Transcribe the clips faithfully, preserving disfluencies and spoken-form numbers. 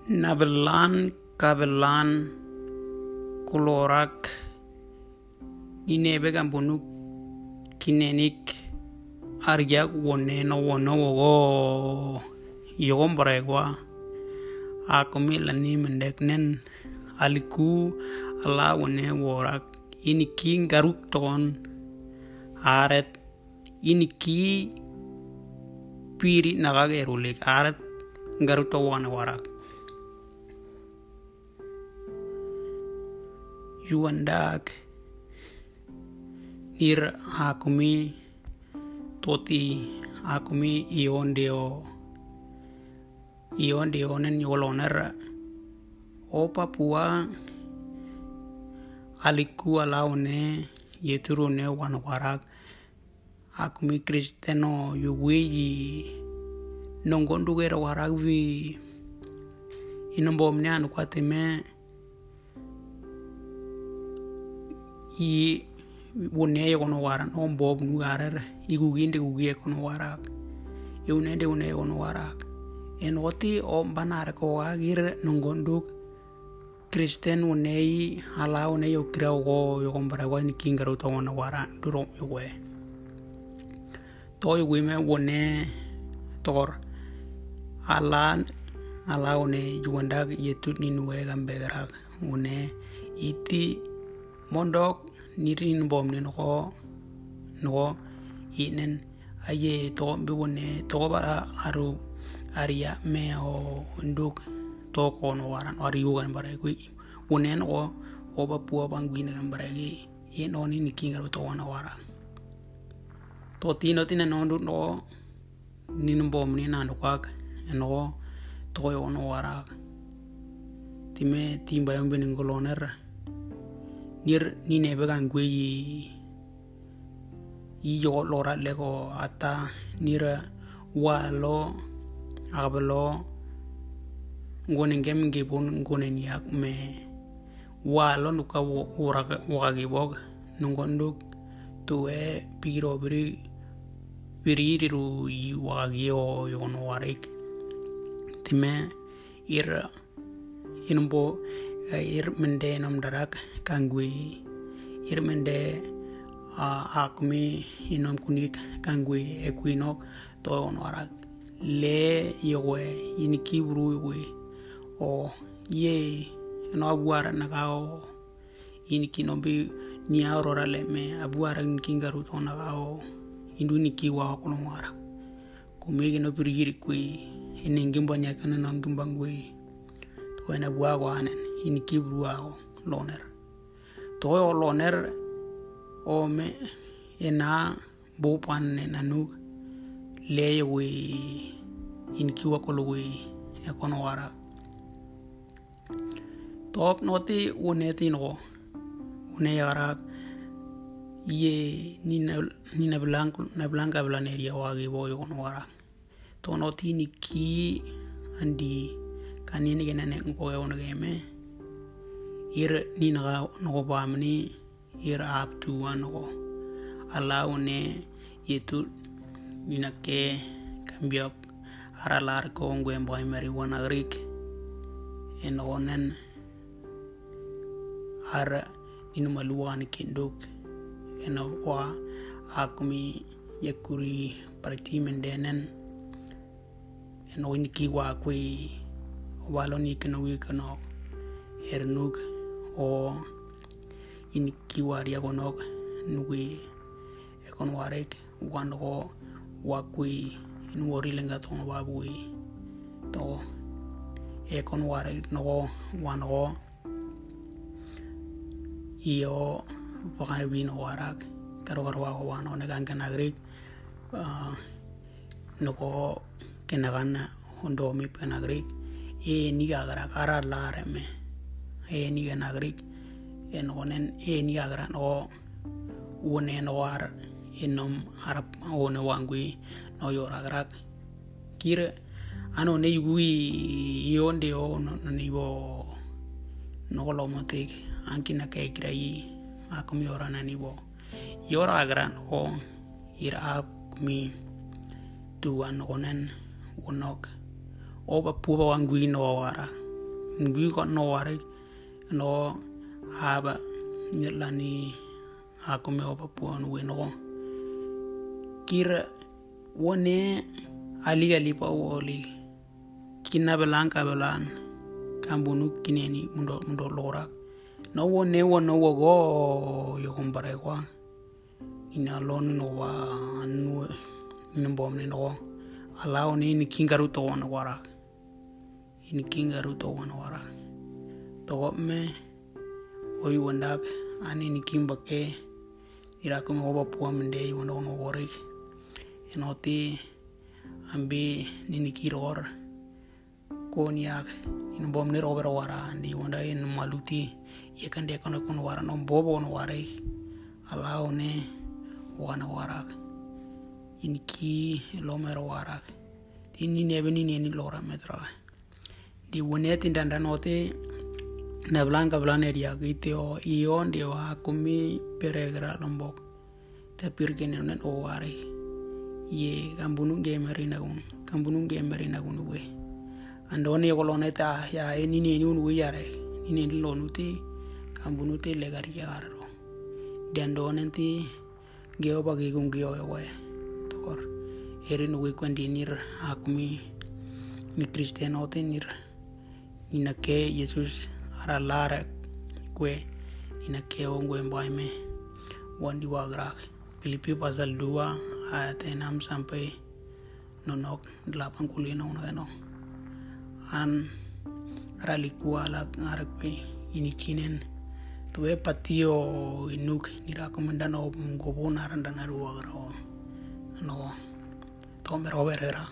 Nabelan kabelan kolorak ninebe gambonuk kinenik aryak wone no wono wogo yogom baregwa akumi lani mendeknen aliku ala wone worak ini king garuk ton aret ini ki piri nagage rulik aret garuk to wana warak yuandak ir akumi toti akumi iondeo iondeo nen yoloner o Papua aliku alaune yeturune wanwarak akumi kristeno yuweyi nongondugera warak vi inombomne anu kwateme i wone kono waran on bob nu garer iguginde gugie kono warak iunende une kono warak en oti o banare ko agir nongonduk kristen wonei hala one yo krao go yo kombara go ni kingaro to wona wara duro yo we to yo we me wone tor ala ala one juanda yetut ni nuwe gambera one iti mondok nirin bom ne no no inen aye to be wone to bara aru aria me o nduk to ko no waran ari yugan bare ku wone no o ba pu bangwina bare gi ye no ni kinga to wana wara to tino tina no ndu no nin bom ni na no kwak no to yo no wara time timba yombe ni ngoloner nir ni nebe gangwe yi yo lora lego ata nira walo ablo ngone ngem ngebon ngone niak me walo nuka wora wagi bog nungonduk tuwe piro biri biriru yi wagi o yono warik time ir inbo ir mende nom darak kangui ir mende akmi inom kunik kangui equinok to on warak le yowe ini kibru yowe o ye no abuara nagao ini kinombi ni aurora le me abuara kingaru to nagao indu ni kiwa kono wara kumegi no pirigiri kui ini ngimbanya kana no ngimbangui to ena bua wanen ini kibru ao loner to o loner o me ena bo pan ne nanu le we in kiwa ko we e kono wara top noti uneti no une yara ye ni na ni na blanco na blanca blaneria wagi boyo kono wara to noti ni ki andi kanini gena ne ko e ono game ir ni na no bamni ir up to one no allow ne yetu nina ke cambiok aralar ko ngwe mboy mari wana rik en onen ara inu maluan kinduk en wa akumi yakuri parti mendenen en oni ki wa kui waloni keno wi keno ernuk o in ki waria gonok nugui ekon warek wano wakui nuori lenga to wabui to ekon ware no wano io pakane bino warak karo karo wa wano ne kan kanagrik no ko kenagana hondo mi kanagrik e ni gara kara lare me e ni kanagrik en onen e ni gara no wone no war inom harap one wangui no yoragrak kire ano ne yugui yonde o no nibo no lomotik ankina ke krai akum yorana nibo yoragran o ira kumi tuan onen wonok oba puba wangui no wara ngui ko no ware no aba nyelani aku me opa puan we no kira wone ali ali pa woli kinna belan ka belan kambunu kineni mundo mundo lora no wone wono wogo yo kompare kwa ina lon no wa nu nimbom ni no alao ni ni kingaru to wana wara ini kingaru to wana wara to me oi wandak ani ni kimbake ira ko mo ba puam nde wono no wore enoti ambi ni ni kiror koniak in bom ni rober wara ndi wanda in maluti ye kan de kono kono wara no bobo no ware alao ne wana wara in ki lomer wara ini nebe ni ni lora metra di woneti ndanda note na blanca blaneria giteo ion de wa kumi peregra lombok tapir gene nen o ware ye kambunu gemeri nagun kambunu gemeri nagun we andone kolone ta ya eni ni ni unu yare ini lonuti kambunu te legar yaro dandone ti geo bagi gung geo we tor erin we kwandinir akmi ni kristeno tenir ina ke yesus ara lara kue ina ke ongwe mbaime wandi wagrak Filipi pasal dua ayat enam sampai nonok delapan kulino no an ralikua la ngarepe ini kinen tuwe patio inuk nirakomendano gobona randana ruagra no tomer overera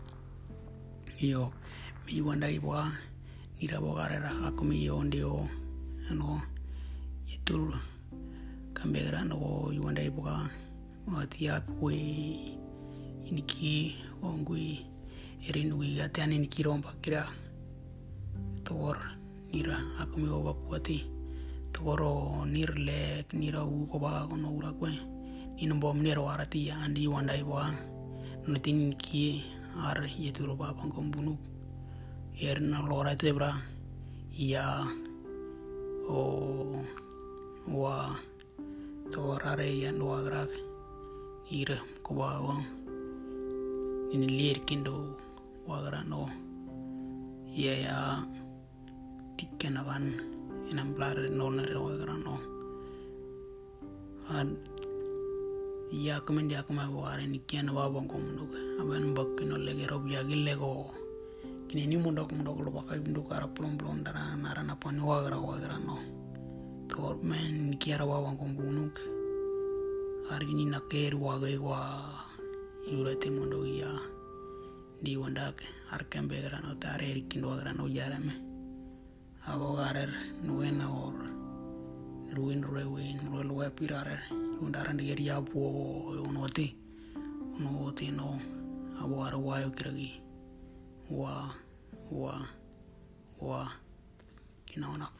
iyo mi wanda iwa nira bogarera akumi yondio no itu kambera no yonda iwa atia kwe iniki ongui erinui atian iniki romba kira tor nira akumi oba puati toro nirle nira u ko ba kono ura kwe inombo mnero arati andi wanda iwa notin ki ar yeturo ba pangkom bunu erna lora tebra ya o wa torare ya no agrak ira ko ba wa in lir kindo wagra no ya ya tikkenagan inam blar no na wagra no an ya kemen dia kuma ware ni kian wa bang komnduk aban bakino lege rob ya gillego kini ni mundok mundok lo bakai munduk ara plom plom dara narana pon wagra wagra no tor men kiara wa bang kombunuk argini naker wagai wa yurate mondo ya di wandak arkembe grano tare rikindo grano jarame abo garer nuena or ruin ruin ruin wa pirare undaran de ya po onoti onoti no abo ar wa yo kiragi wa wa wa kinaona